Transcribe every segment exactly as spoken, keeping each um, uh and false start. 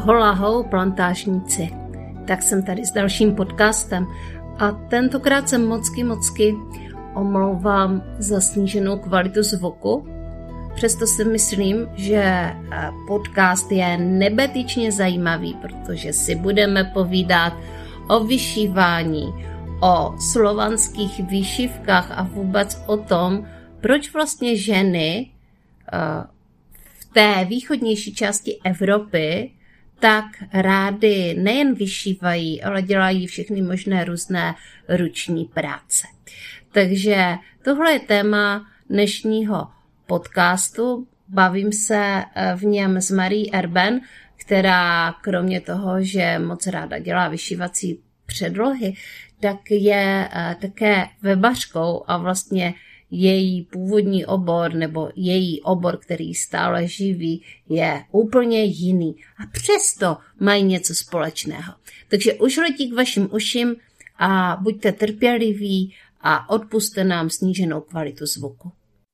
Holahou plantážníci. Tak jsem tady s dalším podcastem a tentokrát jsem mocky mocky omlouvám za sníženou kvalitu zvuku. Přesto si myslím, že podcast je nebetyčně zajímavý, protože si budeme povídat o vyšívání, o slovanských výšivkách a vůbec o tom, proč vlastně ženy v té východnější části Evropy tak rády nejen vyšívají, ale dělají všechny možné různé ruční práce. Takže tohle je téma dnešního podcastu. Bavím se v něm s Marí Erben, která kromě toho, že moc ráda dělá vyšívací předlohy, tak je také webařkou a vlastně její původní obor nebo její obor, který stále živí, je úplně jiný. A přesto mají něco společného. Takže už letí k vašim uším a buďte trpěliví a odpusťte nám sníženou kvalitu zvuku.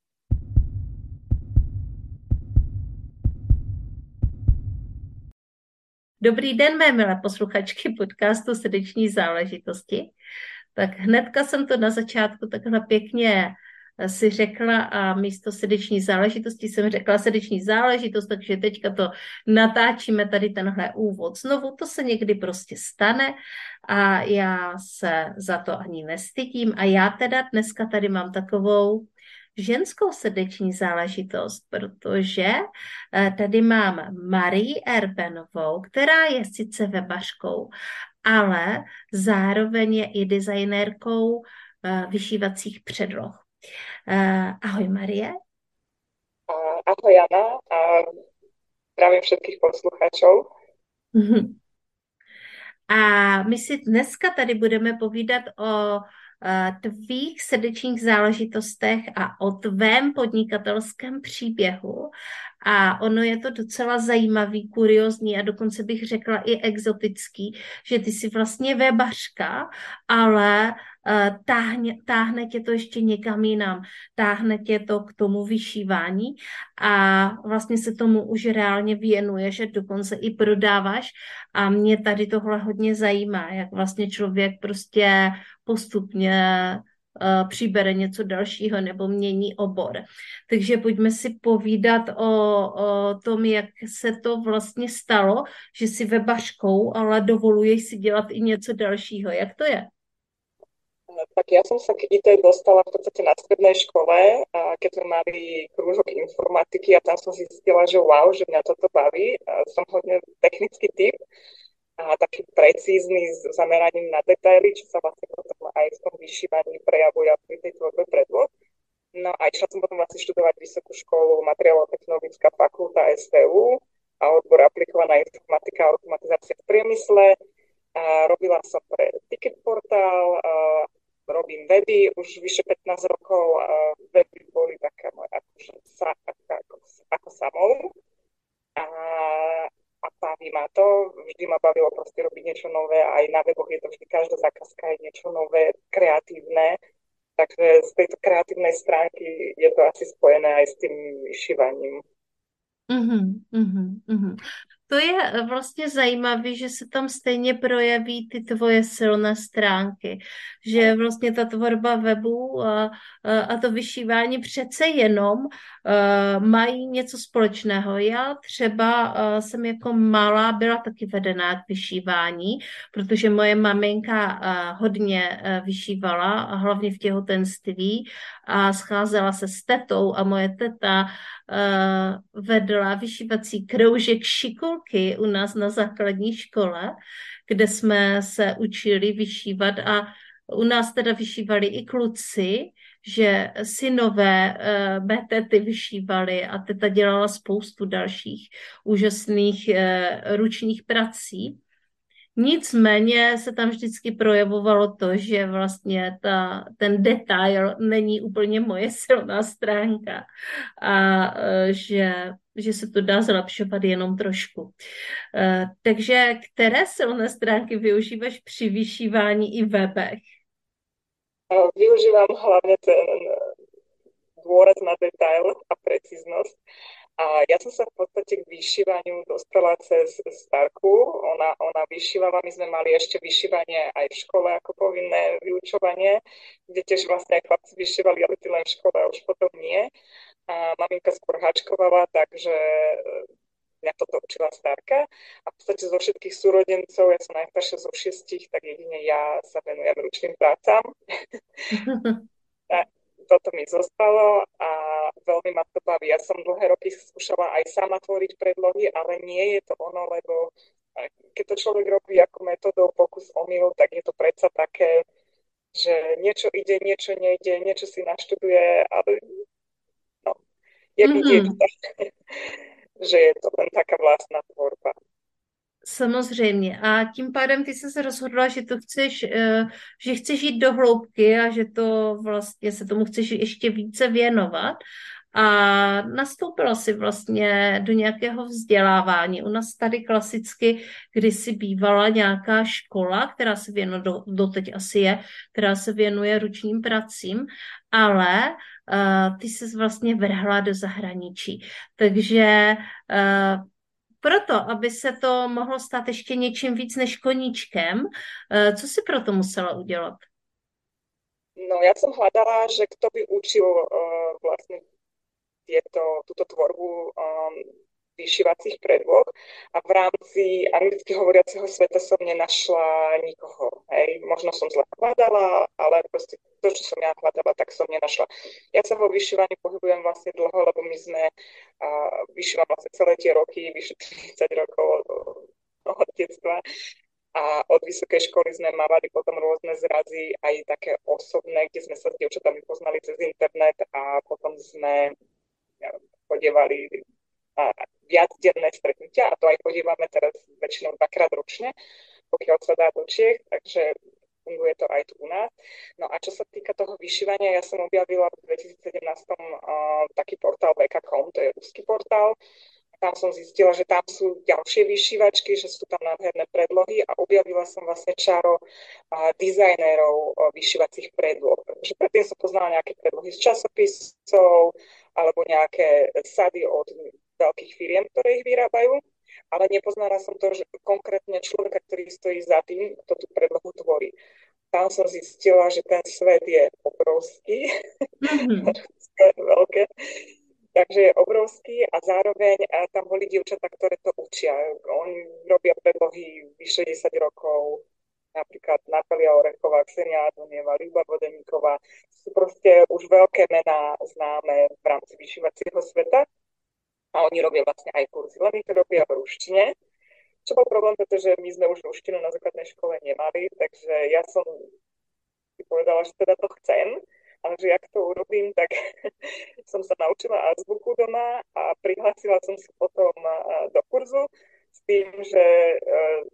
Dobrý den, mé milé posluchačky podcastu Srdeční záležitosti. Tak hnedka jsem to na začátku takhle pěkně si řekla a místo srdeční záležitosti jsem řekla srdeční záležitost, takže teďka to natáčíme tady tenhle úvod. Znovu to se někdy prostě stane a já se za to ani nestydím a já teda dneska tady mám takovou ženskou srdeční záležitost, protože tady mám Marii Erbenovou, která je sice webařkou, ale zároveň je i designérkou vyšívacích předloh. Ahoj Marie. Ahoj Jana a zdravím všetkých posluchačov. A my si dneska tady budeme povídat o tvých srdečních záležitostech a o tvém podnikatelském příběhu. A ono je to docela zajímavý, kuriózní a dokonce bych řekla i exotický, že ty jsi vlastně webařka, ale táhne, táhne tě to ještě někam jinam. Táhne tě to k tomu vyšívání a vlastně se tomu už reálně věnuje, že dokonce i prodáváš a mě tady tohle hodně zajímá, jak vlastně člověk prostě postupně uh, přibere něco dalšího nebo mění obor. Takže pojďme si povídat o, o tom, jak se to vlastně stalo, že jsi webařkou, ale dovoluješ si dělat i něco dalšího. Jak to je? Tak ja som sa k í té dostala v podstate na strednej škole, a keď sme mali krúžok informatiky a tam som zistila, že wow, že mňa toto baví. A som hodne technický typ a taký precízny s zameraním na detaily, čo sa vlastne potom aj v tom vyšívaní prejavuje pri tej tvorbe predloh. No a išla som potom vlastne študovať vysokú školu materiálovo-technologická fakulta es té ú a odbor aplikovaná informatika a automatizácia v priemysle. A robila som pre Ticket Portál, a robím weby už vyše pätnásť rokov a weby boli taká moja akože sa, ako, ako samou. A, a baví ma to, vždy ma bavilo proste robiť niečo nové a aj na weboch je to vždy, každá zákazka je niečo nové, kreatívne. Takže z tejto kreatívnej stránky je to asi spojené aj s tým vyšívaním. Mm-hmm, mm-hmm, mm-hmm. To je vlastně zajímavé, že se tam stejně projeví ty tvoje silné stránky, že vlastně ta tvorba webu a, a to vyšívání přece jenom uh, mají něco společného. Já třeba uh, jsem jako malá byla taky vedená k vyšívání, protože moje maminka uh, hodně uh, vyšívala, a hlavně v těhotenství a scházela se s tetou a moje teta uh, vedla vyšívací kroužek šikulky u nás na základní škole, kde jsme se učili vyšívat a u nás teda vyšívali i kluci, že synové uh, mé tety vyšívali a teta dělala spoustu dalších úžasných uh, ručních prací. Nicméně se tam vždycky projevovalo to, že vlastně ta, ten detail není úplně moje silná stránka a že, že se to dá zlepšovat jenom trošku. Takže které silné stránky využíváš při vyšívání i webech? Využívam hlavne ten dôraz na detail a precíznosť. A ja som sa v podstate k vyšívaniu dostala cez starku. Ona, ona vyšívala, my sme mali ešte vyšívanie aj v škole ako povinné vyučovanie, kde tiež vlastne aj chlapci vyšívali, ale ty len v škole a už potom nie. A maminka skôr háčkovala, takže mňa toto učila starka. A v podstate zo všetkých súrodencov, ja som najstaršia zo šiestich, tak jedine ja sa venujem ručným prácam. Toto mi zostalo a veľmi ma to baví. Ja som dlhé roky skúšala aj sama tvoriť predlohy, ale nie je to ono, lebo keď to človek robí ako metodou pokus omyl, tak je to predsa také, že niečo ide, niečo nejde, niečo si naštuduje, ale no, jak mm-hmm. dieťa, že je to len taká vlastná tvorba. Samozřejmě. A tím pádem ty jsi se rozhodla, že to chceš, že chceš jít do hloubky a že to vlastně se tomu chceš ještě více věnovat. A nastoupila si vlastně do nějakého vzdělávání. U nás tady klasicky kdysi bývala nějaká škola, která se věnuje, do, doteď asi je, která se věnuje ručním pracím, ale uh, ty se vlastně vrhla do zahraničí. Takže uh, proto, aby se to mohlo stát ještě něčím víc než koníčkem, co si proto musela udělat? No, ja som hľadala, že kto by učil uh, vlastne tieto, túto tvorbu um, vyšívacích predloh a v rámci anglicky hovoriaceho sveta som nenašla nikoho. Hej. Možno som zle hľadala, ale proste to, čo som ja hľadala, tak som nenašla. Ja sa vo vyšívaní pohybujem vlastne dlho, lebo my sme uh, vyšívam vlastne celé tie roky, vyše tridsať rokov od, od detstva. A od vysokej školy sme mávali potom rôzne zrazy, aj také osobné, kde sme sa s dievčatami poznali cez internet a potom sme chodievali a viacdenné stretnutia a to aj chodívame teraz väčšinou dvakrát ročne, pokiaľ sa dá do Čiech, takže funguje to aj tu u nás. No a čo sa týka toho vyšívania, ja som objavila v dvetisícsedemnásť uh, taký portál bé ká bodka com, to je ruský portál. Tam som zistila, že tam sú ďalšie vyšívačky, že sú tam nádherné predlohy a objavila som vlastne čaro uh, dizajnérov uh, vyšívacích predloh. Takže predtým som poznala nejaké predlohy z časopisov alebo nejaké sady od veľkých firiem, ktoré ich vyrábajú, ale nepoznala som to, že konkrétne človeka, ktorý stojí za tým, kto tú predlohu tvorí. Tam som zistila, že ten svet je obrovský, mm-hmm. veľké, takže je obrovský a zároveň a tam boli dievčatá, ktoré to učia. Oni robia predlohy vyše desať rokov, napríklad Natália Orechová, Ksenia Adonieva, Ľuba Vodeníková. Sú proste už veľké mená známe v rámci vyšívacieho sveta. A oni robia vlastne aj kurzy, len ich robia v ruštine. Čo bol problém, pretože my sme už ruštinu na základnej škole nemali, takže ja som si povedala, že teda to chcem, ale že jak to urobím, tak som sa naučila azbuku doma a prihlásila som sa potom do kurzu s tým, že uh,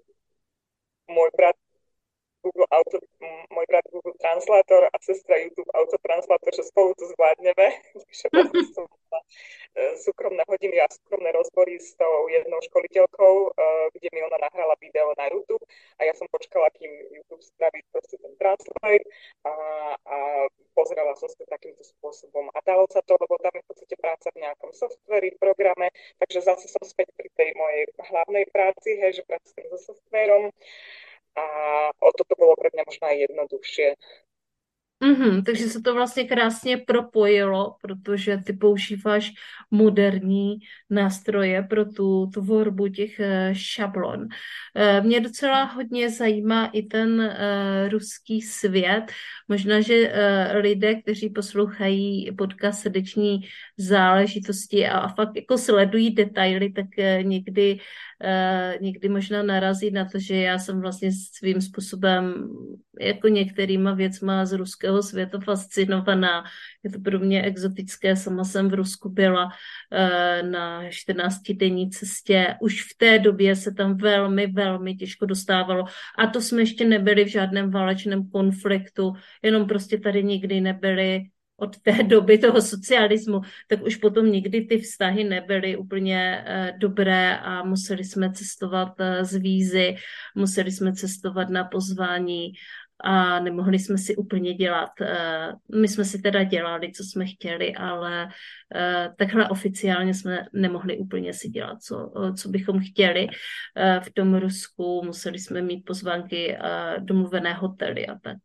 môj brat Google Auto, môj brat Google Translator a sestra YouTube Autotranslator, že spolu to zvládneme. Takže vlastne som mala súkromné hodiny a súkromné rozbory s tou jednou školiteľkou, kde mi ona nahrala video na YouTube a ja som počkala, kým YouTube spraví proste ten translate a, a pozerala som sa takýmto spôsobom. A dalo sa to, lebo tam je v podstate práca v nejakom softveri, v programe, takže zase som späť pri tej mojej hlavnej práci, hej, že pracujem so softverom. A o toto bylo pro mě možná jednodušší. Mm-hmm, takže se to vlastně krásně propojilo, protože ty používáš moderní nástroje pro tu tvorbu těch šablon. Mě docela hodně zajímá i ten uh, ruský svět. Možná, že uh, lidé, kteří poslouchají podcast Srdeční záležitosti a, a fakt jako sledují detaily, tak uh, někdy Uh, někdy možná narazí na to, že já jsem vlastně svým způsobem jako některýma věcma z ruského světa fascinovaná. Je to pro mě exotické, sama jsem v Rusku byla uh, na čtrnáctidenní cestě. Už v té době se tam velmi, velmi těžko dostávalo. A to jsme ještě nebyli v žádném válečném konfliktu, jenom prostě tady nikdy nebyli od té doby toho socialismu, tak už potom nikdy ty vztahy nebyly úplně uh, dobré a museli jsme cestovat uh, z vízy, museli jsme cestovat na pozvání a nemohli jsme si úplně dělat. My jsme si teda dělali, co jsme chtěli, ale takhle oficiálně jsme nemohli úplně si dělat, co, co bychom chtěli. V tom Rusku museli jsme mít pozvánky, domluvené hotely a tak.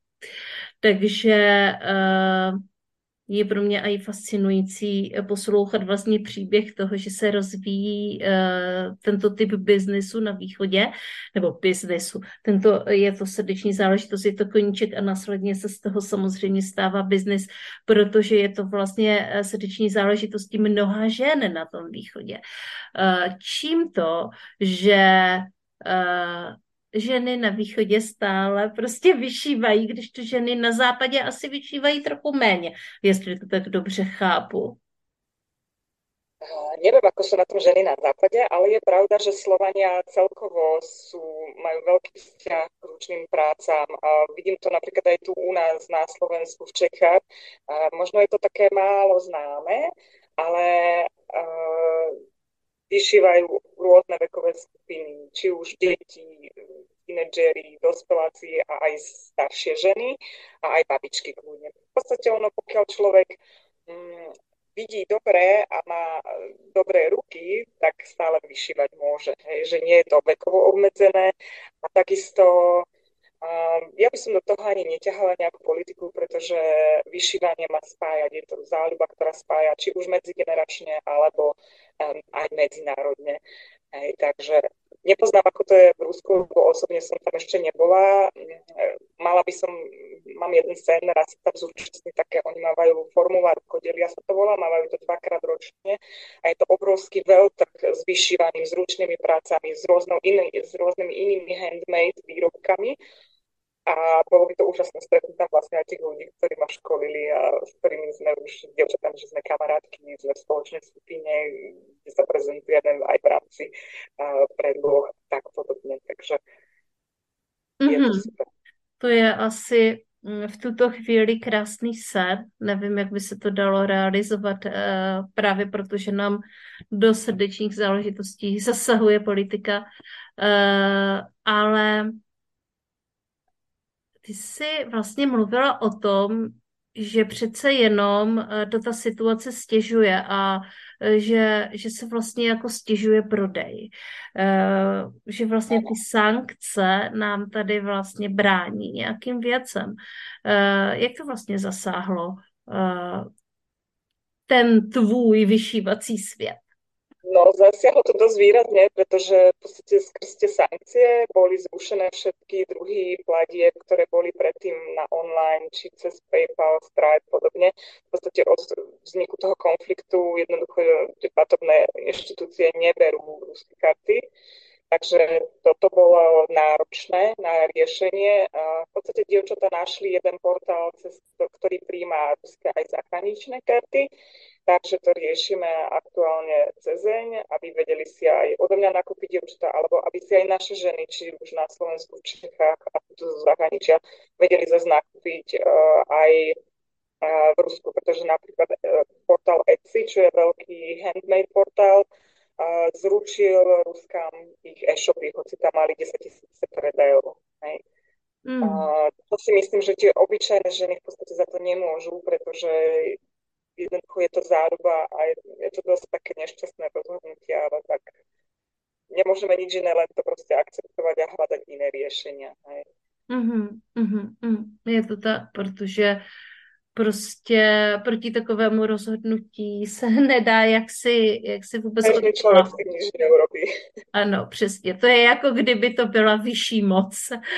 Takže je pro mě i fascinující poslouchat vlastně příběh toho, že se rozvíjí uh, tento typ biznesu na východě, nebo biznesu. Tento je to srdeční záležitost, je to koníček a následně se z toho samozřejmě stává biznis, protože je to vlastně srdeční záležitostí mnoha žen na tom východě. Uh, čím to, že uh, ženy na východě stále prostě vyšívají, když to ženy na západě asi vyšívají trochu méně, jestli to tak dobře chápu. Neviem, ako sú na tom ženy na západe, ale je pravda, že Slovania celkovo sú, majú veľký vzťah k ručným prácam. A vidím to napríklad aj tu u nás na Slovensku, v Čechách. A možno je to také málo známe, ale uh, vyšívajú rôzne vekové skupiny, či už deti, tínedžeri, dospeláci a aj staršie ženy a aj babičky kľudne. V podstate ono, pokiaľ človek mm, vidí dobre a má dobré ruky, tak stále vyšívať môže. Hej, že nie je to vekovo obmedzené a takisto um, ja by som do toho ani neťahala nejakú politiku, pretože vyšívanie má spájať. Je to záľuba, ktorá spája či už medzigeneračne alebo um, aj medzinárodne. Hej, takže nepoznám, ako to je v Rusku, bo osobne som tam ešte nebola. Mala by som, mám jeden sen, raz sa tam zúčastniť také, oni mávajú formulár Kodelia sa to volá, mávajú to dvakrát ročne a je to obrovský veľtrh s vyšívaním, s ručnými prácami, s, iný, s rôznymi inými handmade výrobkami. A bolo by to úžasné stretnúť tam vlastne aj tých ľudí, ktorí ma školili a s ktorými sme už dievčatami, že sme kamarátky, sme v spoločnej skupine, kde sa prezentujeme aj v rámci uh, predloh, tak podobne. Takže je mm-hmm. to super. To je asi v tuto chvíli krásný sen. Nevím, jak by se to dalo realizovat uh, právě protože nám do srdečních záležitostí zasahuje politika. Uh, ale ty jsi vlastně mluvila o tom, že přece jenom to ta situace stěžuje a že, že se vlastně jako stěžuje prodej. Že vlastně ty sankce nám tady vlastně brání nějakým věcem. Jak to vlastně zasáhlo ten tvůj vyšívací svět? No, zasiahlo to dosť výrazne, pretože v podstate skrz tie sankcie boli zrušené všetky druhy platieb, ktoré boli predtým na online, či cez PayPal, Stripe, podobne. V podstate od vzniku toho konfliktu jednoducho tie platobné inštitúcie neberú ruské karty. Takže toto bolo náročné na riešenie. V podstate dievčatá našli jeden portál, cez ktorý prijíma ruské aj zahraničné karty. Takže to riešime aktuálne cez deň, aby vedeli si aj odo mňa nakúpiť dievčatá, alebo aby si aj naše ženy, či už na Slovensku, v Čechách a tu zo zahraničia, vedeli zase nakúpiť uh, aj uh, v Rusku, pretože napríklad uh, portál Etsy, čo je veľký handmade portál, uh, zručil Ruskám ich e-shopy, hoci tam mali desaťtisíc predajov. Hej. Mm. Uh, to si myslím, že tie obyčajné ženy v podstate za to nemôžu, pretože jednoducho je to záruba a je, je to dosť také nešťastné rozhodnutie, ale tak nemôžeme nič iné, len to proste akceptovať a hľadať iné riešenia. Hej. Mm-hmm, mm-hmm. Je to tak, protože prostě proti takovému rozhodnutí se nedá jaksi, jaksi vůbec odplavit. Každý člověk si nič neurobí. Ano, přesně. To je jako kdyby to byla vyšší moc.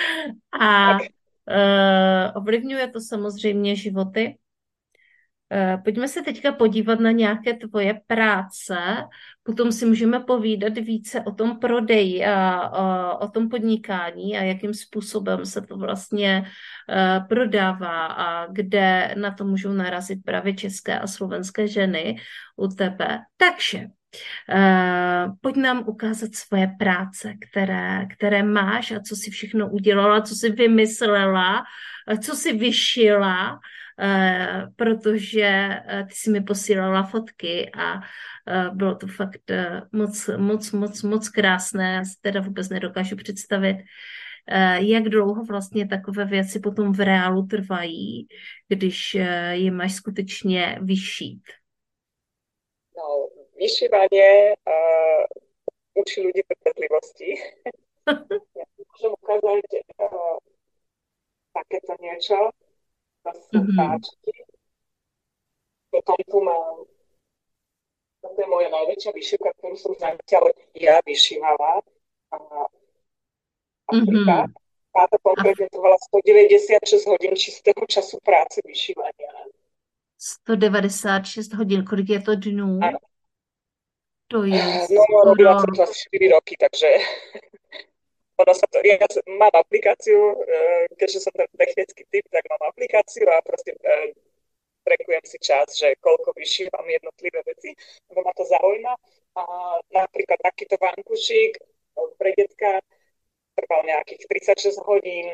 A uh, ovlivňuje to samozřejmě životy. Pojďme se teďka podívat na nějaké tvoje práce, potom si můžeme povídat více o tom prodeji a o, o tom podnikání a jakým způsobem se to vlastně uh, prodává a kde na to můžou narazit právě české a slovenské ženy u tebe. Takže uh, pojď nám ukázat svoje práce, které, které máš a co jsi všechno udělala, co jsi vymyslela, co jsi vyšila, Uh, protože uh, ty jsi mi posílala fotky a uh, bylo to fakt uh, moc, moc, moc, moc krásné. Já si teda vůbec nedokážu představit, eh, jak dlouho vlastně takové věci potom v reálu trvají, když eh, je máš skutečně vyšít. No, vyšívanie uh, učí ľudí trpezlivosti. Ja môžem ukázať uh, takéto niečo. To sú Mhm. páčky. Potom tu mám, toto je moja najväčšia vyšívka, ktorú som zatiaľ ja vyšívala. A Afrika. Mhm. Táto A konkrétne trvala stodeväťdesiatšesť hodín čistého času práce vyšívania. sto devadesát šest hodin, kolik je to dnů? Áno. To je No, robila skoro... som to asi štyri roky, takže ono sa to, ja mám aplikáciu, eh, keďže som ten technický typ, tak mám aplikáciu a proste eh, trekujem si čas, že koľko vyšívam jednotlivé veci, lebo ma to zaujíma. A napríklad takýto vankušík eh, pre detka trval nejakých tridsaťšesť hodín.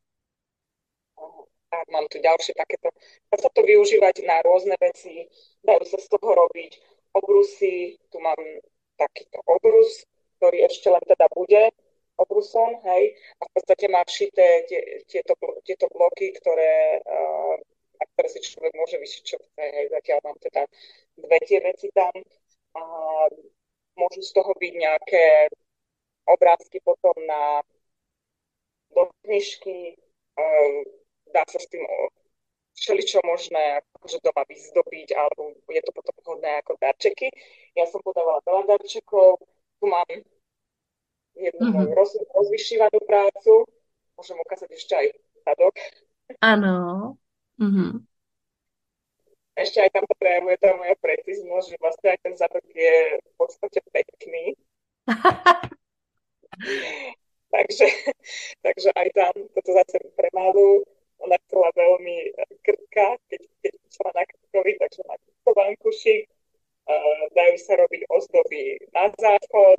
A mám tu ďalšie takéto. Dá sa to využívať na rôzne veci, dajú sa z toho robiť obrusy. Tu mám takýto obrus, ktorý ešte len teda bude obrusom, hej. A v podstate má všité tie, tieto, tieto bloky, ktoré, uh, na ktoré si človek môže vyšiť, čo chce, hej. Zatiaľ mám teda dve tie veci tam. A môžu z toho byť nejaké obrázky potom na do knižky, uh, dá sa s tým všeličo možné akože doma vyzdobiť, alebo je to potom vhodné ako darčeky. Ja som podávala veľa darčekov, tu mám jednu moju Mhm. roz, rozvyšívanú prácu, môžem ukázať ešte aj zadok. Ano. Mhm. Ešte aj tam to prejavuje tá moja preciznosť, že vlastne aj ten zadok je v podstate pekný. Takže, takže aj tam toto zase pre malú, ona chcela veľmi krtka, keď, keď chcela na krtkovi, takže má krtkovankušik, uh, dajú sa robiť ozdoby na záchod.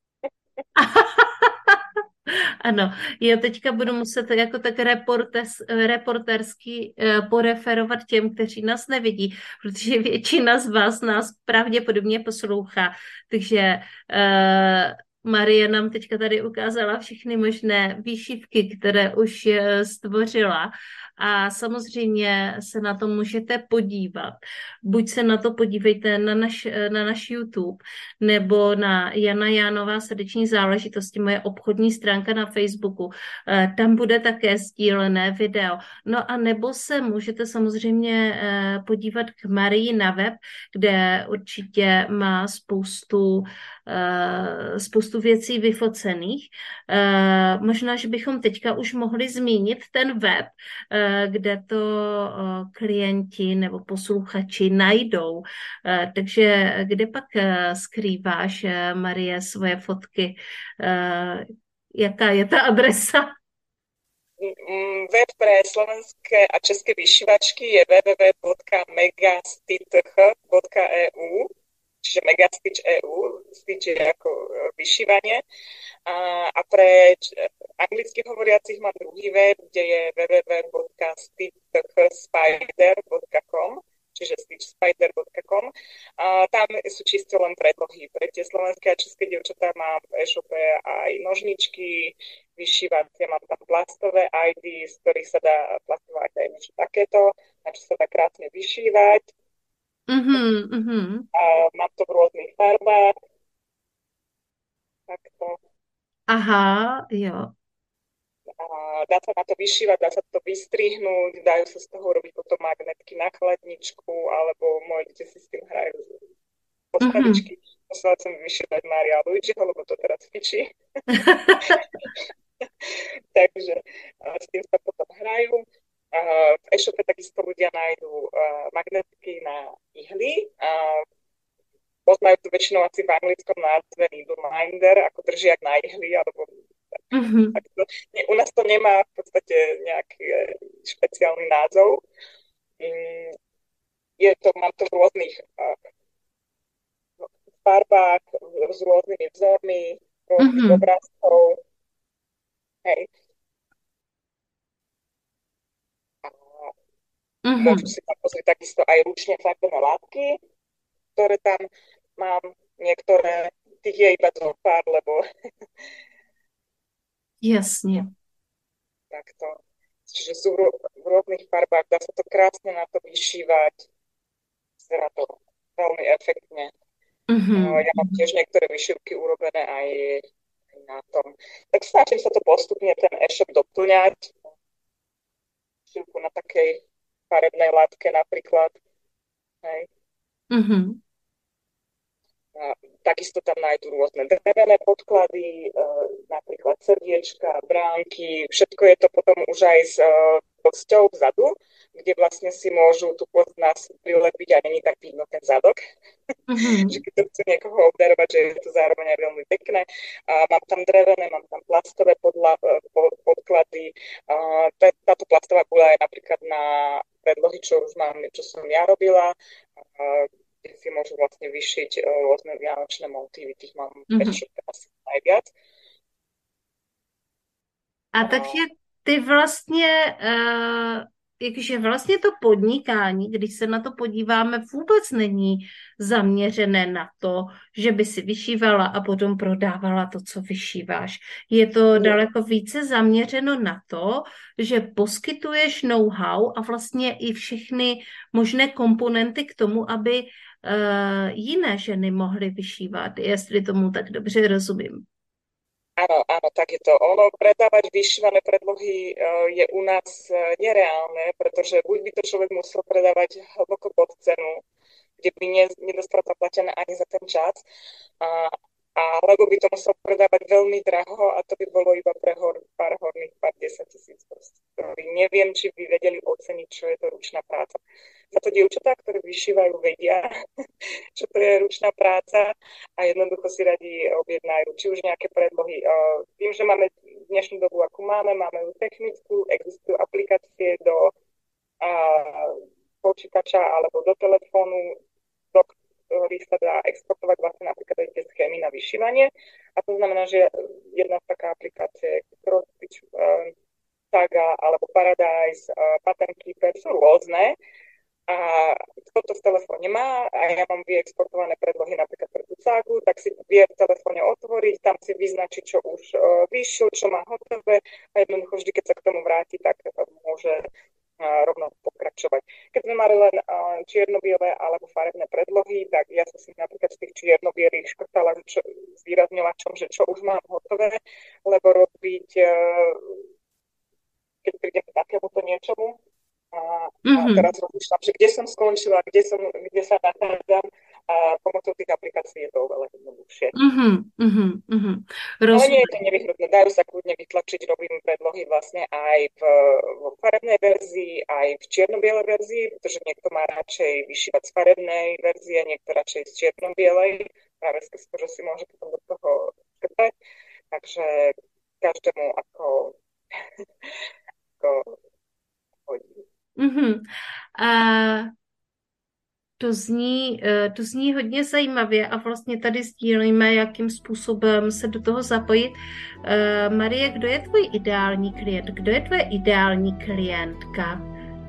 Ano, já teďka budu muset jako tak reportes, reportersky eh, poreferovat těm, kteří nás nevidí, protože většina z vás nás pravděpodobně poslouchá. Takže uh, Marie nám teďka tady ukázala všechny možné výšivky, které už eh, stvořila. A samozřejmě se na to můžete podívat. Buď se na to podívejte na naš, na naš YouTube, nebo na Jana Jánová srdeční záležitosti, moje obchodní stránka na Facebooku. Eh, Tam bude také sdílené video. No a nebo se můžete samozřejmě eh, podívat k Marii na web, kde určitě má spoustu, eh, spoustu věcí vyfocených. Eh, Možná, že bychom teďka už mohli zmínit ten web, eh, kde to eh, klienti nebo posluchači najdou. Eh, Takže kde pak eh, skrýváš, eh, Marie, svoje fotky? Eh, Jaká je ta adresa? Mm, Web pre slovenské a české vyšívačky je w w w bodka megastitch bodka e u, čiže Megastitch bodka e u, stitch je ako e, vyšívanie. A, a pre č- anglicky hovoriacich mám druhý web, kde je w w w bodka stitchspider bodka com, čiže stitchspider bodka com. A tam sú čisto len predlohy. Pre tie slovenské a české dievčatá mám v e-shope aj nožničky, vyšívacie, mám tam plastové í dé, z ktorých sa dá plastovať aj niečo takéto, na čo sa dá krásne vyšívať. Mhm, mhm. A mám to v rôznych farbách. Takto. Aha, jo. A dá sa na to vyšívať, dá sa to vystrihnúť, dajú sa z toho robiť potom magnetky na chladničku, alebo moje deti si s tým hrajú Mhm. postavičky. Musela som vyšívať Mária Luigiho, lebo to teraz fičí. Takže a s tým sa potom hrajú. A v e-shope takisto ľudia nájdú uh, magnetky na ihly. A poznajú to väčšinou asi v anglickom názve needleminder, ako držiak na ihly, alebo Mhm. tak to, nie, u nás to nemá v podstate nejaký e, špeciálny názov. Mm, je to, mám to v rôznych uh, farbách, s rôznymi vzormi, rôznych Mhm. obrázkov. Hej. A môžu Mhm. si tam pozrieť takisto aj ručne farbené látky, ktoré tam mám. Niektoré, tých je iba zo pár, lebo Jasně. takto. Čiže sú v rôznych farbách, dá sa to krásne na to vyšívať. Vyzerá to veľmi efektne. Mm-hmm. Ja mám tiež niektoré vyšívky urobené aj na tom. Tak snažím sa to postupne ten e-shop doplňať. Vyšívku na takej farebnej látke napríklad. Hej. Mm-hmm. A takisto tam nájdú rôzne drevené podklady, e, napríklad srdiečka, bránky, všetko je to potom už aj s e, kosťou vzadu, kde vlastne si môžu tú kost nás prilepiť a není tak vidno ten zadok. Mm-hmm. Že keď to chcú niekoho obdarovať, že je to zároveň aj veľmi pekné. A mám tam drevené, mám tam plastové podla, podklady. A táto plastová guľa je napríklad na predlohy, čo už mám, čo som ja robila, a kde si môžu vlastne vyšiť rôzne vianočné motívy, tých mám mm-hmm. asi najviac. A takže ty vlastně, uh, jakže vlastně to podnikání, když se na to podíváme, vůbec není zaměřené na to, že by si vyšívala a potom prodávala to, co vyšíváš. Je to daleko více zaměřeno na to, že poskytuješ know-how a vlastně i všechny možné komponenty k tomu, aby uh, jiné ženy mohly vyšívat, jestli tomu tak dobře rozumím. Áno, áno, tak je to. Ono, predávať vyšívané predlohy uh, je u nás uh, nereálne, pretože buď by to človek musel predávať hlboko pod cenu, kde by ne, nedostal zaplatené ani za ten čas, uh, alebo by to musel predávať veľmi draho a to by bolo iba pre hor, pár horných, pár desať tisíc proste. Neviem, či by vedeli oceniť, čo je to ručná práca. Za to dievčatá, ktoré vyšívajú, vedia, čo to je ručná práca a jednoducho si radi objednajú, či už nejaké predlohy. Viem, že máme dnešnú dobu, akú máme, máme ju technickú, existujú aplikácie do a, počítača alebo do telefónu, do ktorých sa dá exportovať vlastne napríklad aj tie schémy na vyšívanie. A to znamená, že jedna z taká aplikácie Crossstitch, uh, Saga alebo Paradise, uh, Pattern Keeper sú rôzne. A kto to v telefóne má a ja mám vyexportované predlohy napríklad pre tú Sagu, tak si vie v telefóne otvoriť, tam si vyznačiť, čo už uh, vyšiel, čo má hotové a jednoducho vždy, keď sa k tomu vráti, tak uh, môže uh, rovno pokračovať. Keď sme mali len uh, čierno-biele alebo farebné predlohy, tak ja som si napríklad z tých čierno-bielých škrtala čo, s výrazňovačom, že čo už mám hotové, lebo robiť, uh, keď prídem k takémuto niečomu, A, mm-hmm. a teraz rozmýšľam, že kde som skončila, kde, som, kde sa nachádzam a pomocou tých aplikácií je to oveľa jednoduchšie. Mm-hmm. Mm-hmm. Ale nie je to nevyhnutné. Dajú sa kľudne vytlačiť, robím predlohy vlastne aj v, v farebnej verzii, aj v čierno-bielej verzii, pretože niekto má radšej vyšívať z farebnej verzie, niekto radšej z čierno-bielej, práve skôr, že si môže potom do toho škrtať. Takže každému ako, ako hodí. Mm-hmm. A to zní, to zní hodně zajímavě a vlastně tady sdílíme, jakým způsobem se do toho zapojit. Marie, kdo je tvůj ideální klient? Kdo je tvoje ideální klientka?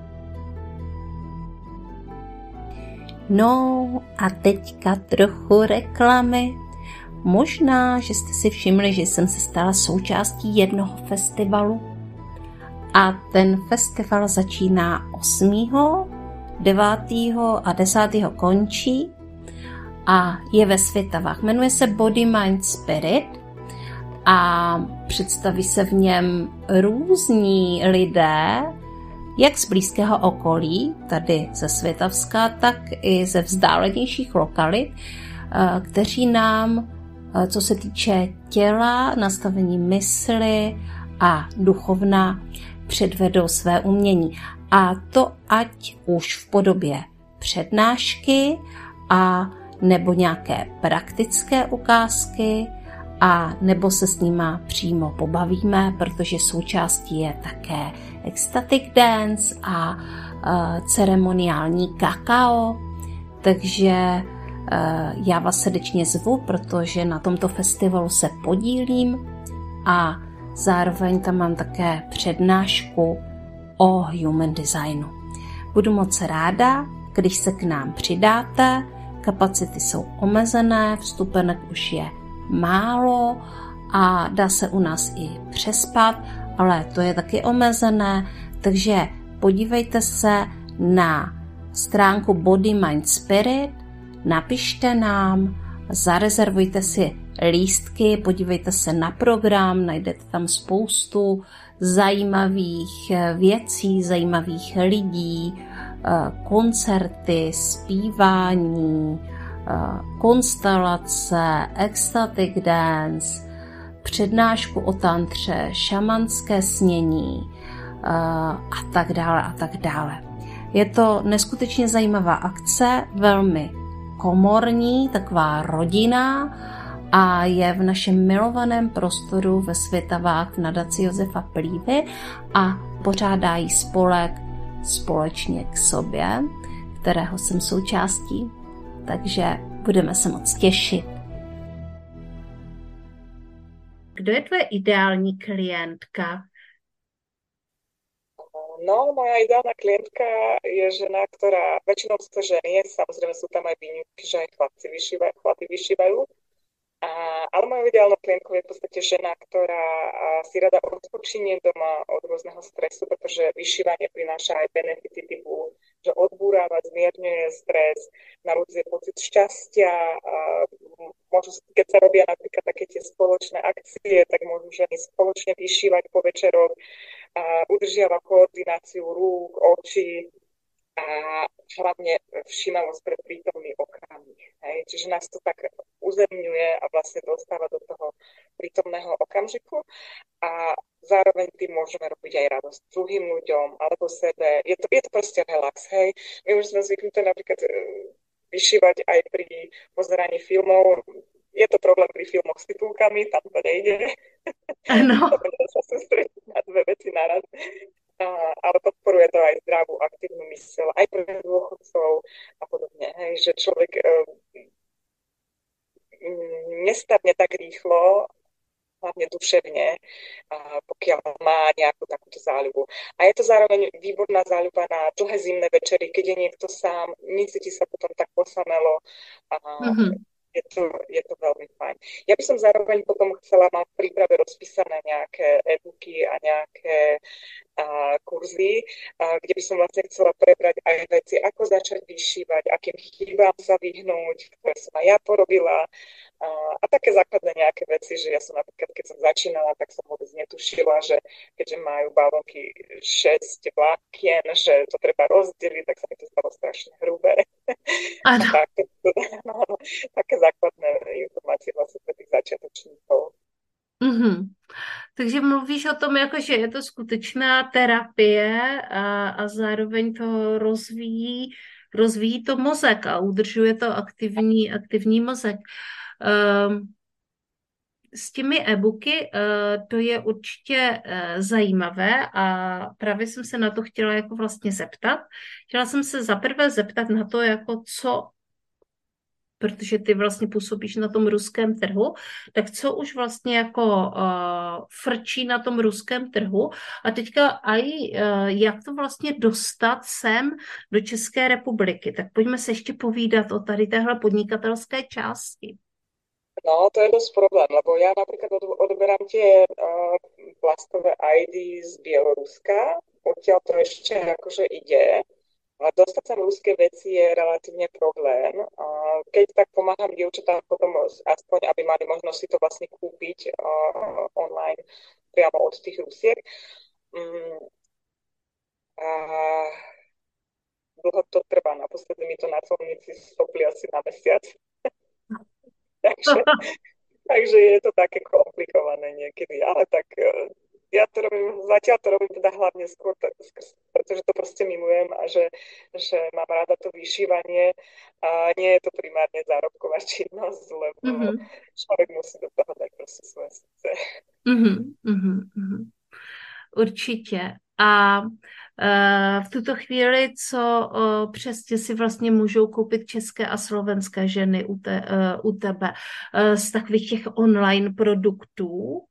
No a teďka trochu reklamy. Možná, že jste si všimli, že jsem se stala součástí jednoho festivalu. A ten festival začíná osmého devátého a desátého končí a je ve Svitavách. Jmenuje se Body, Mind, Spirit a představí se v něm různí lidé, jak z blízkého okolí, tady ze Svitavska, tak i ze vzdálenějších lokalit, kteří nám, co se týče těla, nastavení mysli a duchovna, předvedou své umění. A to ať už v podobě přednášky a nebo nějaké praktické ukázky a nebo se s nima přímo pobavíme, protože součástí je také ecstatic dance a uh, ceremoniální kakao. Takže uh, já vás srdečně zvu, protože na tomto festivalu se podílím a zároveň tam mám také přednášku o human designu. Budu moc ráda, když se k nám přidáte, kapacity jsou omezené, vstupenek už je málo a dá se u nás i přespat ale to je taky omezené, takže podívejte se na stránku Body, Mind, Spirit, napište nám, zarezervujte si lístky, podívejte se na program, najdete tam spoustu zajímavých věcí, zajímavých lidí, koncerty, zpívání, konstelace, ecstatic dance, přednášku o tantře, šamanské snění a tak dále a tak dále. Je to neskutečně zajímavá akce, velmi komorní, taková rodina a je v našem milovaném prostoru ve Světavách v nadaci Josefa Plívy a pořádá jí spolek Společně k sobě, kterého jsem součástí, takže budeme se moc těšit. Kdo je tvoje ideální klientka? No, moja ideálna klientka je žena, ktorá, väčšinou sú to ženy, samozrejme sú tam aj výnimky, že aj chlapci vyšívajú, chlapi vyšívajú. A, ale mojou ideálnou klientkou je v podstate žena, ktorá si rada odpočinie doma od rôzneho stresu, pretože vyšívanie prináša aj benefity typu, že odbúráva, zmierňuje stres, narodzuje pocit šťastia. A môžu, keď sa robia napríklad také tie spoločné akcie, tak môžu ženy spoločne vyšívať po večeroch, a udržiava koordináciu rúk, očí a hlavne všímavosť pre prítomný okamih. Hej. Čiže nás to tak uzemňuje a vlastne dostáva do toho prítomného okamžiku a zároveň tým môžeme robiť aj radosť druhým ľuďom alebo sebe. Je to, je to proste relax. Hej. My už sme zvyknuté napríklad vyšívať aj pri pozeraní filmov. Je to problém pri filmoch s titulkami, tam to nejde. Ano. To sa sústrediť na dve veci naraz. A, ale podporuje to aj zdravú, aktívnu myseľ, aj pre dôchodcov a podobne. Hej, že človek um, nestarne tak rýchlo, hlavne duševne, a pokiaľ má nejakú takúto záľubu. A je to zároveň výborná záľuba na dlhé zimné večery, keď je niekto sám, necíti sa potom tak posamelo. A mm-hmm. je, to, je to veľmi fajn. Ja by som zároveň potom chcela mať v príprave rozpísané nejaké e-booky a nejaké a, kurzy, a, kde by som vlastne chcela prebrať aj veci, ako začať vyšívať, akým chybám sa vyhnúť, ktoré som aj ja porobila. A, a také základné nejaké veci, že ja som napríklad, keď som začínala, tak som vôbec netušila, že keďže majú bavlnky šesť vlákien, že to treba rozdeliť, tak sa mi to stalo strašne hrubé. Ano. tak, no, také základné informácie vlastne pre tých začiatočníkov. Mm-hmm. Takže mluvíš o tom, jako, že je to skutečná terapie a, a zároveň to rozvíjí, rozvíjí to mozek a udržuje to aktivní, aktivní mozek. Um, s těmi e-booky uh, to je určitě uh, zajímavé a právě jsem se na to chtěla jako vlastně zeptat. Chtěla jsem se zaprvé zeptat na to, jako co, protože ty vlastně působíš na tom ruském trhu, tak co už vlastně jako uh, frčí na tom ruském trhu a teďka aj uh, jak to vlastně dostat sem do České republiky. Tak pojďme se ještě povídat o tady téhle podnikatelské části. No, to je dosť problém, lebo ja napríklad od, odoberám tie uh, plastové í dé z Bieloruska, odtiaľ to ešte akože ide, ale dostať sa ruské veci je relatívne problém. Uh, keď tak pomáham dievčatám potom aspoň, aby mali možnosť si to vlastne kúpiť uh, online priamo od tých Rusiek. Um, a dlho to trvá, naposledy mi to na colnici stopli asi na mesiac. takže, takže je to také komplikované niekedy, ale tak ja to robím, zatiaľ to robím teda hlavne skôr, pretože to proste milujem a že, že mám rada to vyšívanie a nie je to primárne zárobková činnosť, lebo mm-hmm. človek musí do toho dať proste svoje srdce. Mm-hmm, mm-hmm. Určitě. A uh, v tuto chvíli, co uh, přesně si vlastně můžou koupit české a slovenské ženy u, te, uh, u tebe uh, z takových těch online produktů?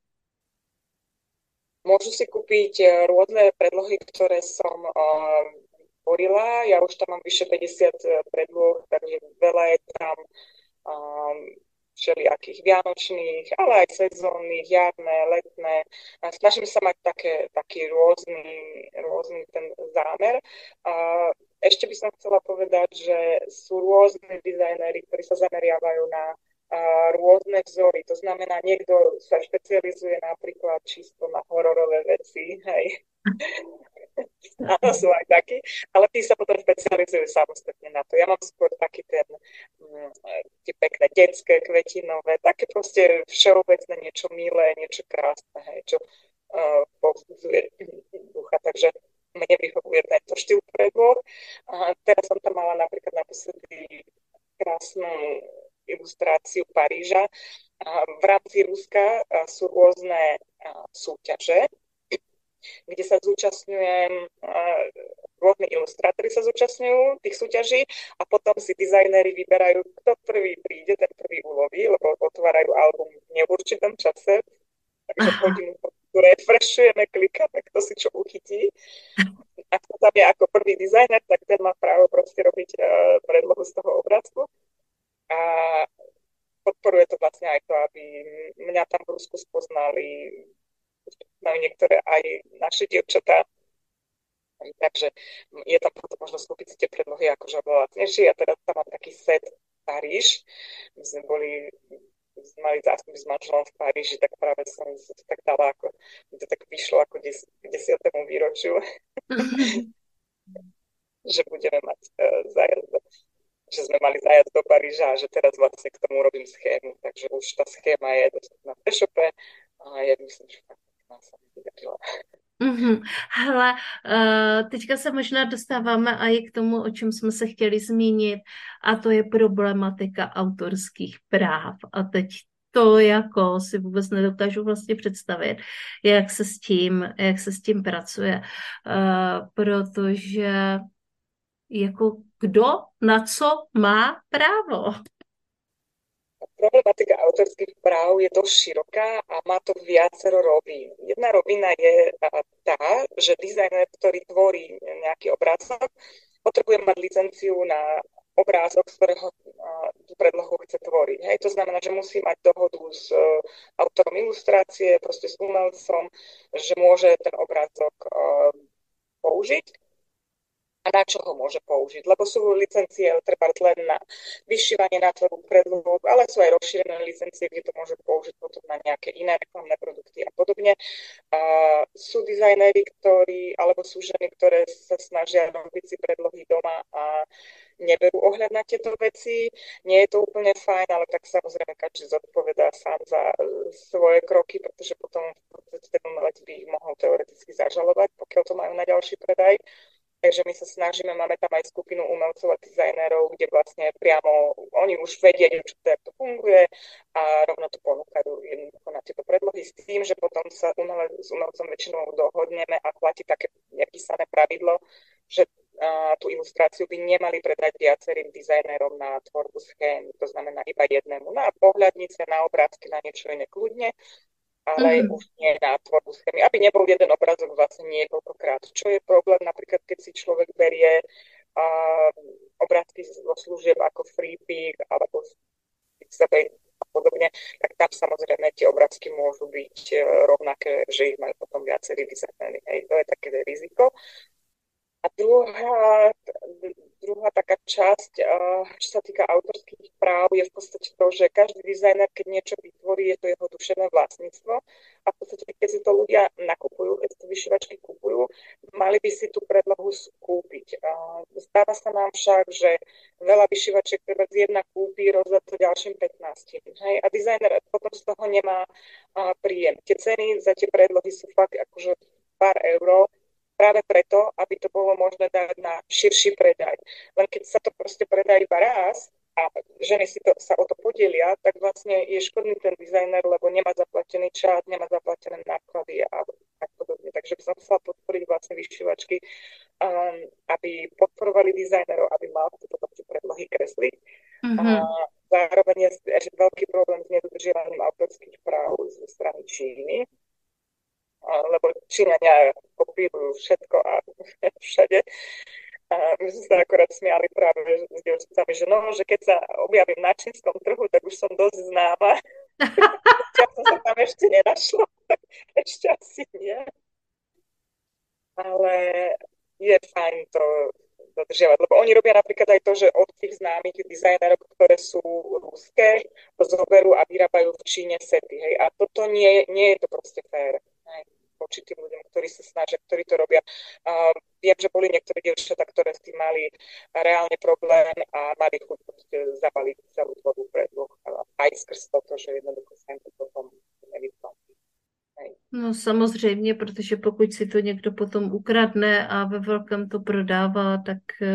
Môžu si kúpiť rôzne predlohy, ktoré som uh, tvorila. Ja už tam mám vyše päťdesiat predloh, takže veľa je tam um, všelijakých vianočných, ale aj sezónnych, jarné, letné. A snažím sa mať také, taký rôzny, rôzny ten zámer. A ešte by som chcela povedať, že sú rôzne dizajnéri, ktorí sa zameriavajú na a, rôzne vzory. To znamená, niekto sa špecializuje napríklad čisto na hororové veci, hej. Áno, sú aj takí, ale tí sa potom špecializujú samostatne na to. Ja mám skôr taký ten, mm, tie pekné detské, kvetinové, také proste všeobecné, niečo milé, niečo krásne, hej, čo uh, povzbudzuje ducha. Takže mne vyhovuje tento štýl predloh. A teraz som tam mala napríklad naposledy krásnu ilustráciu Paríža. A v rámci Ruska a, sú rôzne a, súťaže, kde sa zúčastňujem, rôzni ilustrátori sa zúčastňujú tých súťaží a potom si dizajnéri vyberajú, kto prvý príde, ten prvý uloví, lebo otvárajú album v neurčitom čase, takže hodinu refreshujeme, klikáme, kto si čo uchytí. Ak to tam je ako prvý dizajner, tak ten má právo proste robiť uh, predlohu z toho obrázku. A podporuje to vlastne aj to, aby mňa tam v Rusku spoznali majú niektoré aj naše dievčatá. Takže je tam potom možno skúpiť si tie predlohy akože oveľa lacnejšie. Ja teda tam mám taký set Paríž. My sme boli, sme mali zástup s manželom v Paríži, tak práve som sa to tak dala, ako mi to tak vyšlo ako des, k desiatému výročiu, že budeme mať uh, zájazd, že sme mali zájazd do Paríža a že teraz vlastne k tomu robím schému. Takže už tá schéma je dostupná v e-shope a ja myslím, že fakt Mm-hmm. Hele, uh, teďka se možná dostáváme i k tomu, o čem jsme se chtěli zmínit, a to je problematika autorských práv. A teď to jako si vůbec nedokážu vlastně představit, jak se s tím, jak se s tím pracuje, uh, protože jako kdo na co má právo? Problematika autorských práv je dosť široká a má to viacero rovín. Jedna rovina je tá, že dizajner, ktorý tvorí nejaký obrázok, potrebuje mať licenciu na obrázok, z ktorého tú predlohu chce tvoriť. Hej, to znamená, že musí mať dohodu s autorom ilustrácie, proste s umelcom, že môže ten obrázok použiť. A na čo ho môže použiť, lebo sú licencie treba len na vyšívanie, na tvorbu predloh, ale sú aj rozšírené licencie, kde to môže použiť potom na nejaké iné reklamné produkty a podobne. Uh, sú dizajnéri, ktorí, alebo sú ženy, ktoré sa snažia robiť si predlohy doma a neberú ohľad na tieto veci. Nie je to úplne fajn, ale tak samozrejme každý zodpovedá sám za svoje kroky, pretože potom ten umelec by ich mohol teoreticky zažalovať, pokiaľ to majú na ďalší predaj. Takže my sa snažíme, máme tam aj skupinu umelcov a dizajnérov, kde vlastne priamo oni už vedia, čo to, jak to funguje a rovno to ponúkajú jednoducho na tieto predlohy s tým, že potom sa umelec, s umelcom väčšinou dohodneme a platí také nepísané pravidlo, že a, tú ilustráciu by nemali predať viacerým dizajnérom na tvorbu schém, to znamená iba jednému na pohľadnice, na obrázky, na niečo iné kľudne, ale mm-hmm. už nie na tvorbu schémy, aby nebol jeden obrazok vlastne niekoľkokrát. Čo je problém, napríklad keď si človek berie uh, obrázky zo služieb ako Freepik alebo Pixabay a podobne, tak tam samozrejme tie obrázky môžu byť uh, rovnaké, že ich majú potom viacerí dizajnéri. Hej, to je také riziko. A druhá, druhá taká časť, čo sa týka autorských práv, je v podstate to, že každý dizajner, keď niečo vytvorí, je to jeho duševné vlastníctvo. A v podstate, keď si to ľudia nakupujú, keď si to vyšívačky kupujú, mali by si tú predlohu skúpiť. Stáva sa nám však, že veľa vyšívačiek treba z jedna kúpi, rozdá to ďalším pätnástim. Hej? A dizajner potom z toho nemá príjem. Tie ceny za tie predlohy sú fakt akože pár eur, práve preto, aby to bolo možné dať na širší predaj. Len keď sa to proste predá iba raz a ženy si to, sa o to podelia, tak vlastne je škodný ten dizajner, lebo nemá zaplatený čas, nemá zaplatené náklady a tak podobne. Takže by som chcela podporiť vlastne vyšívačky, um, aby podporovali dizajnerov, aby mal potom tie predlohy kresliť. Mm-hmm. A zároveň je ešte veľký problém s nedodržiavaním autorských práv zo strany Číny, lebo Číňania kopírujú všetko a všade. A my sme sa akorát smiali práve s dievčatami, že no, že keď sa objavím na čínskom trhu, tak už som dosť známa. Ja som sa tam ešte nenašla, tak ešte asi nie. Ale je fajn to dodržiavať, lebo oni robia napríklad aj to, že od tých známych dizajnerov, ktoré sú ruské, to zoberú a vyrábajú v Číne sety, hej. A toto nie, nie je to proste fér, hej, voči tým ľuďom, ktorí sa snažia, ktorí to robia. Uh, viem, že boli niektoré dievčatá, ktoré s tým mali reálne problém a mali chuť proste zabaliť celú tvorbu predloh aj skrz toto, že jednoducho sa im to potom nevyplatí. No samozřejmě, protože pokud si to někdo potom ukradne a ve velkém to prodává, tak,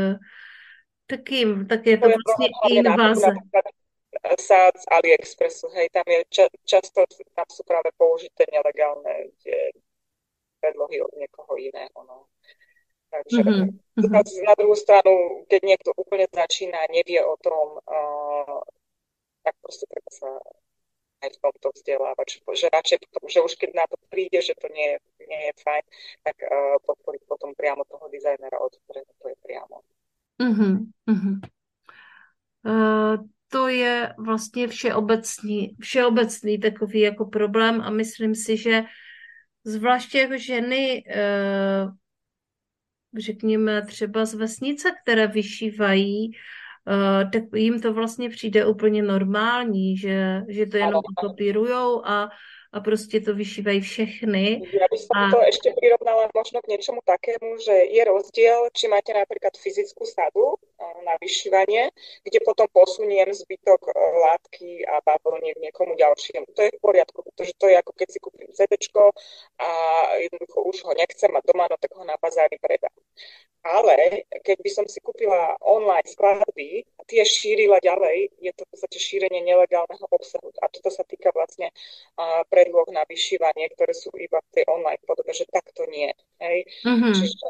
tak, jim, tak je to, to je vlastně invaze. Sa z AliExpressu, hej, tam je ča, často tam sú práve použité nelegálne tie predlohy od niekoho iného, no. Takže mm-hmm. na druhú stranu, keď niekto úplne začína a nevie o tom, uh, tak proste treba sa aj v tomto vzdelávať, že, že radšej potom, že už keď na to príde, že to nie, nie je fajn, tak uh, podporiť potom priamo toho dizajnera, od ktorého to je priamo. Uh-huh, uh-huh. Uh, to je vlastně všeobecný, všeobecný takový jako problém a myslím si, že zvláště jako ženy, uh, řekněme třeba z vesnice, které vyšívají, Uh, tak jim to vlastně přijde úplně normální, že, že to jenom kopírujou a, a prostě to vyšívají všechny. Ja by som a... to ešte prirovnala možno k niečomu takému, že je rozdiel, či máte napríklad fyzickú sadu na vyšívanie, kde potom posuniem zbytok látky a bavlniek niekomu ďalšiemu. To je v poriadku, pretože to je ako keď si kúpim cédéčko a jednoducho už ho nechcem mať doma, no tak ho na bazári predám. Ale keď by som si kúpila online skladby a tie šírila ďalej, je to v podstate šírenie nelegálneho obsahu. A toto sa týka vlastne uh, predloh na vyšívanie, ktoré sú iba v tej online podobe, že takto nie. Hej? Mm-hmm. Čiže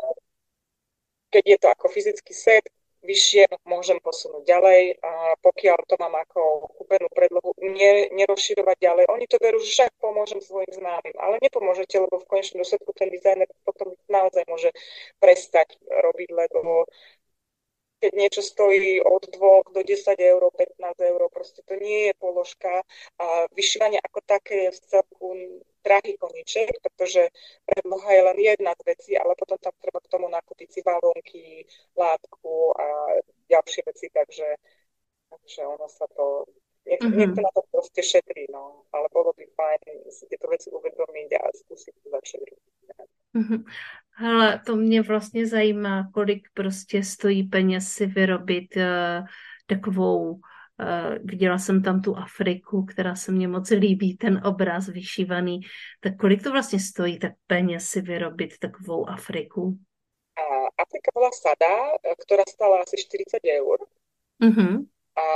keď je to ako fyzický set, vyššie môžem posunúť ďalej. A pokiaľ to mám ako kúpenú predlohu, ne, nerozširovať ďalej. Oni to verú, že však pomôžem svojim známym, ale nepomôžete, lebo v konečnom dôsledku ten dizajner potom naozaj môže prestať robiť, lebo keď niečo stojí od dvoch do desať eur, pätnásť eur, proste to nie je položka. A vyšívanie ako také je v celku drahý koníček, pretože predloha je len jedna z vecí, ale potom tam treba k tomu nakúpiť si balónky, látku a ďalšie veci, takže, takže ono sa to... Niek- mm-hmm. Niekto na to proste šetrí, no. Ale bolo by fajn si tieto veci uvedomiť a skúsiť to začať robiť. Mm-hmm. Hele, to mě vlastně zajímá, kolik prostě stojí peněz si vyrobit uh, takovou, uh, viděla jsem tam tu Afriku, která se mně moc líbí, ten obraz vyšívaný, tak kolik to vlastně stojí tak peněz si vyrobit takovou Afriku? Uh, Afrika bola sada, ktorá stala asi štyridsať eur. Mm-hmm. A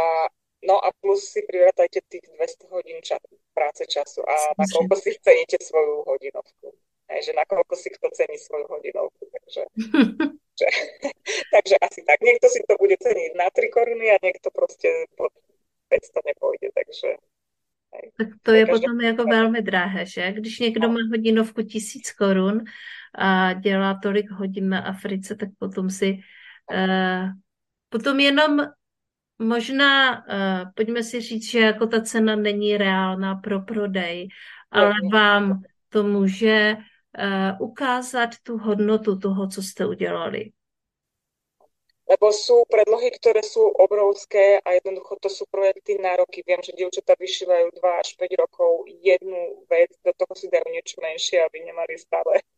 no a plus si prirátajte tých dvesto hodín ča- práce času a na koľko si ceníte svoju hodinovku. Hej, že nakoľko si kto cení svoju hodinovku. Takže, že, takže asi tak. Niekto si to bude ceniť na tri koruny a niekto proste pod päťsto nepôjde. Takže, hej. Tak to je každý... potom jako velmi drahé, že? Když někdo má hodinovku tisíc korun a dělá tolik hodin na Africe, tak potom si uh, potom jenom možná, uh, pojďme si říct, že jako ta cena není reálná pro prodej, ale vám to může uh, ukázat tu hodnotu toho, co jste udělali. Lebo sú predlohy, ktoré sú obrovské a jednoducho to sú projekty na roky. Viem, že dievčatá vyšívajú dva až päť rokov jednu vec, do toho si dajú niečo menšie, aby nemali stále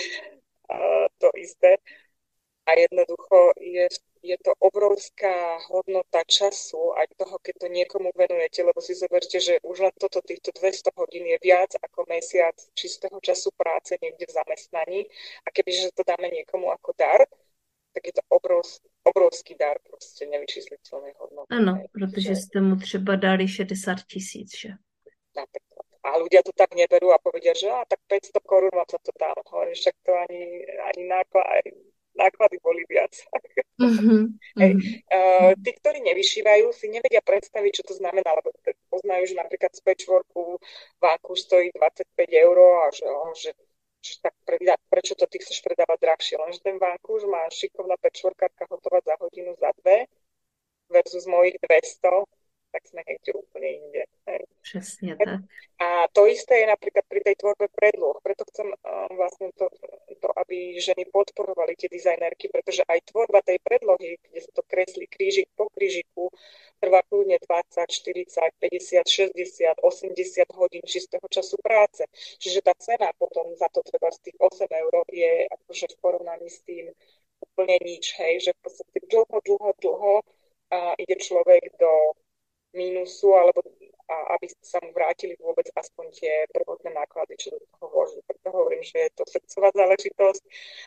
to isté. A jednoducho je, je to obrovská hodnota času aj toho, keď to niekomu venujete, lebo si zoberte, že už len toto, týchto dvesto hodín je viac ako mesiac čistého času práce niekde v zamestnaní. A kebyže to dáme niekomu ako dar, tak je to obrovský, obrovský dar, prostě nevyčíslitelné hodnoty. Ano, protože jste mu třeba dali šedesát tisíc, že? Napríklad. A ľudia to tak neberú a povedia, že á, tak päťsto korún vám za to dám. Hovorím, však to ani, ani náklady, náklady boli viac. Mm-hmm. Hej. Uh, tí, ktorí nevyšívajú, si nevedia predstaviť, čo to znamená, lebo poznajú, že napríklad z patchworku vánku stojí dvadsaťpäť eur a že, oh, že Čiže tak pre, prečo to ty chceš predávať drahšie? Lenže ten vankúš má šikovná pečvorkárka hotová za hodinu, za dve versus mojich dvesto, tak sme niekde úplne inde. Hej. Přesně tak. A to isté je napríklad pri tej tvorbe predloh. Preto chcem uh, vlastne to, to, aby ženy podporovali tie dizajnerky, pretože aj tvorba tej predlohy, kde sa to kreslí krížik po krížiku, trvá kľudne dvadsať, štyridsať, päťdesiat, šesťdesiat, osemdesiat hodín čistého času práce. Čiže tá cena potom za to treba z tých osem eur je akože v porovnaní s tým úplne nič, hej, že v podstate dlho, dlho, dlho a ide človek do mínusu, alebo a aby sa mu vrátili vôbec aspoň tie prvotné náklady, čo do toho vloží. Preto hovorím, že je to srdcová záležitosť.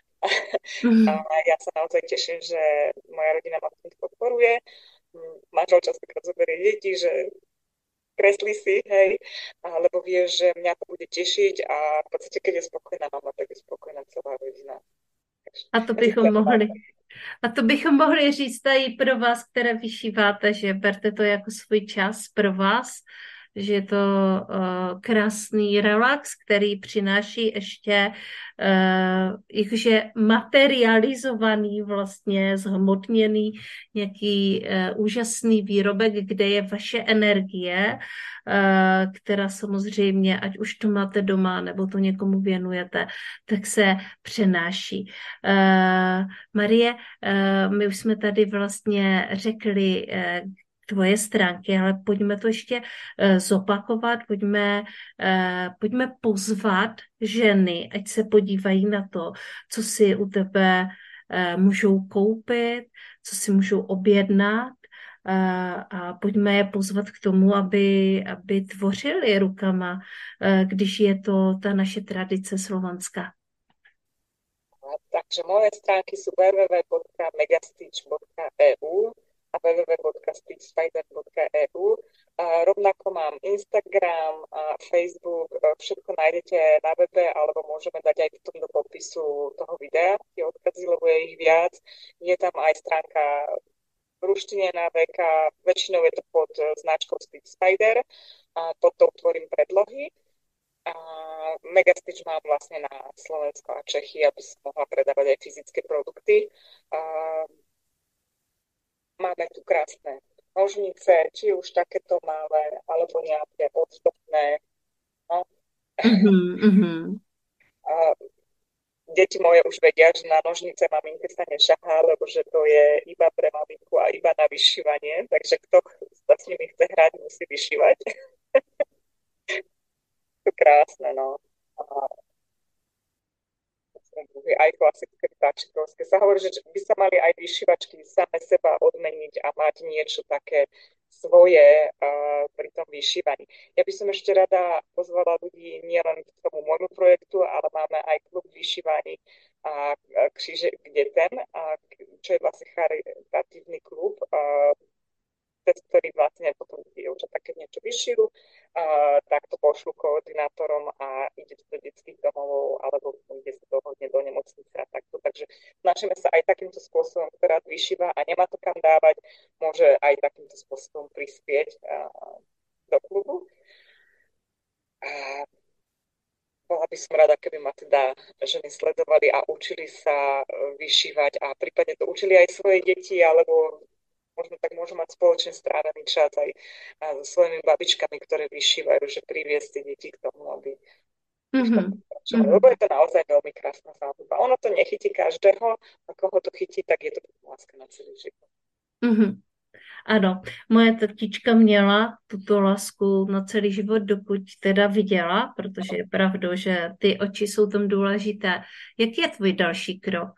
A ja sa naozaj teším, že moja rodina ma v tom podporuje. Manžel častokrát zoberie deti, že kreslí si, hej, lebo vie, že mňa to bude tešiť a v podstate, keď je spokojná mama, tak je spokojná celá rodina. A to bychom mohli... A to bychom mohli říct tady pro vás, které vyšíváte, že berte to jako svůj čas pro vás, že je to uh, krásný relax, který přináší ještě uh, jakože materializovaný, vlastně zhmotněný nějaký uh, úžasný výrobek, kde je vaše energie, uh, která samozřejmě, ať už to máte doma, nebo to někomu věnujete, tak se přenáší. Uh, Marie, uh, my už jsme tady vlastně řekli uh, tvoje stránky, ale pojďme to ještě uh, zopakovat, pojďme, uh, pojďme pozvat ženy, ať se podívají na to, co si u tebe uh, můžou koupit, co si můžou objednat uh, a pojďme je pozvat k tomu, aby, aby tvořili rukama, uh, když je to ta naše tradice slovanská. Takže moje stránky sú w w w bodka megastitch bodka e u a w w w bodka stitchspider bodka e u. A rovnako mám Instagram a Facebook, všetko nájdete na webe, alebo môžeme dať aj potom do popisu toho videa, tie odkazy, lebo je ich viac. Je tam aj stránka v ruštine na veka, väčšinou je to pod značkou Stitch Spider a pod tou tvorím predlohy. A Megastitch mám vlastne na Slovensko a Čechy, aby som mohla predávať aj fyzické produkty. A máme tu krásne nožnice, či už takéto malé, alebo nejaké ozdobné. No. Mm-hmm. A deti moje už vedia, že na nožnice maminke sa nešahá, lebo že to je iba pre maminku a iba na vyšívanie, takže kto sa s nimi chce hrať, musí vyšívať. To krásne, no. A aj klasické vtáčikovské. Sa hovorí, že by sa mali aj vyšívačky same seba odmeniť a mať niečo také svoje uh, pri tom vyšívaní. Ja by som ešte rada pozvala ľudí nielen k tomu môjmu projektu, ale máme aj klub vyšívaní a kříže k detem, a, čo je vlastne charitatívny klub, uh, cez ktorý vlastne potom dievča také niečo vyšíru, uh, tak to pošlu koordinátorom a ide to do detských domovov alebo ide sa dohodne do nemocnice a takto. Takže snažíme sa aj takýmto spôsobom, ktorá vyšíva a nemá to kam dávať, môže aj takýmto spôsobom prispieť uh, do klubu. A bola by som rada, keby ma teda ženy sledovali a učili sa vyšívať a prípadne to učili aj svoje deti, alebo možno tak môžu mať spoločne strávený čas aj so svojimi babičkami, ktoré vyšívajú, že priviesť tie deti k tomu, aby mm-hmm. lebo je to naozaj veľmi krásna záľuba. Ono to nechytí každého, a koho to chytí, tak je to láska na celý život. Mm-hmm. Ano, moje tetička měla tuto lásku na celý život, dokud teda viděla, protože je pravdou, že ty oči jsou tam důležité. Jaký je tvůj další krok?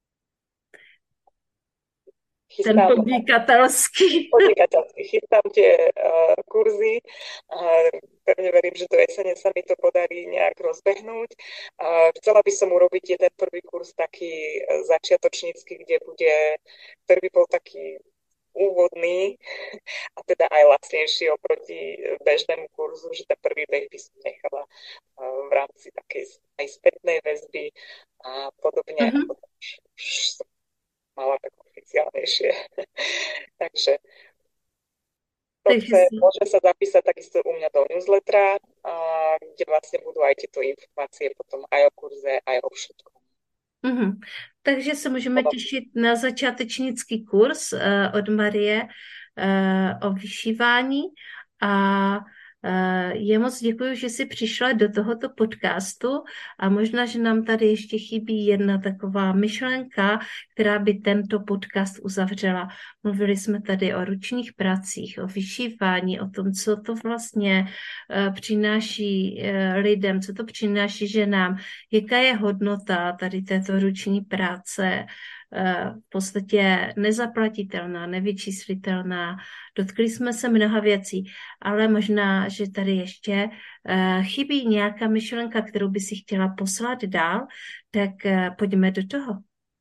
Chystám, ten podnikatelský. Podnikatelský. Chystám tie uh, kurzy. Uh, pevne verím, že do jesene sa mi to podarí nejak rozbehnúť. Uh, chcela by som urobiť jeden prvý kurz taký uh, začiatočnícky, kde bude, ktorý by bol taký úvodný a teda aj lacnejší oproti bežnému kurzu, že ten prvý beh by som nechala uh, v rámci takej aj spätnej väzby a podobne. Mm-hmm. A už, už som mala tak oficiálnejšie. Takže to chce, môže sa zapísať takisto u mňa do newslettera, kde vlastne budú aj tieto informácie potom aj o kurze, aj o všetkom. Mm-hmm. Takže se můžeme těšit na začátečnický kurz uh, od Marie uh, o vyšívání a uh, je moc děkuji, že jsi přišla do tohoto podcastu a možná, že nám tady ještě chybí jedna taková myšlenka, která by tento podcast uzavřela. Mluvili jsme tady o ručních pracích, o vyšívání, o tom, co to vlastně uh, přináší uh, lidem, co to přináší ženám, jaká je hodnota tady této ruční práce, uh, v podstatě nezaplatitelná, nevyčíslitelná. Dotkli jsme se mnoha věcí, ale možná, že tady ještě uh, chybí nějaká myšlenka, kterou by si chtěla poslat dál, tak uh, pojďme do toho.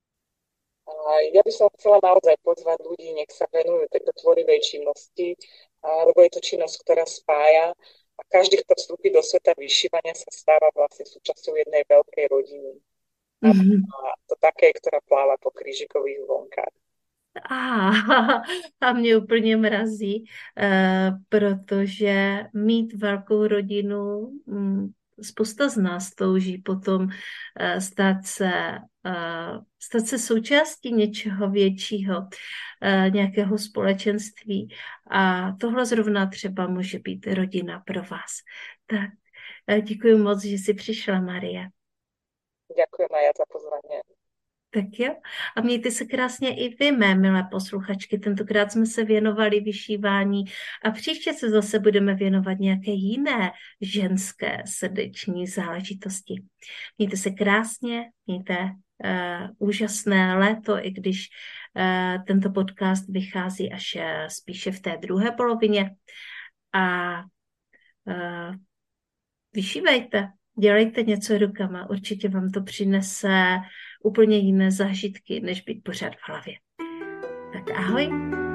Ja by som chcela naozaj pozvať ľudí, nech sa venujú tejto tvorivej činnosti, lebo je to činnosť, ktorá spája a každý, kto vstúpi do sveta vyšívania, sa stáva vlastne súčasťou jednej veľkej rodiny. Mm-hmm. A to také, ktorá pláva po krížikových vlnkách. A, a mě úplně mrazí, uh, protože mít velkou rodinu, um, spousta z nás touží potom uh, stát se, uh, stát se součástí něčeho většího, uh, nějakého společenství. A tohle zrovna třeba může být rodina pro vás. Tak uh, děkuji moc, že jsi přišla, Marie. Děkuji, Maja, za pozvání. Tak jo. A mějte se krásně i vy, mé milé posluchačky. Tentokrát jsme se věnovali vyšívání a příště se zase budeme věnovat nějaké jiné ženské srdeční záležitosti. Mějte se krásně, mějte uh, úžasné léto, i když uh, tento podcast vychází až uh, spíše v té druhé polovině. A uh, vyšívejte. Dělejte něco rukama, určitě vám to přinese úplně jiné zážitky, než být pořád v hlavě. Tak ahoj.